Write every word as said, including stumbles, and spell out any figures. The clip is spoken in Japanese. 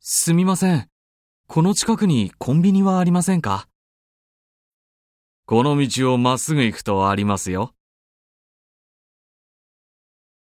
すみません。この近くにコンビニはありませんか？ この道をまっすぐ行くとありますよ。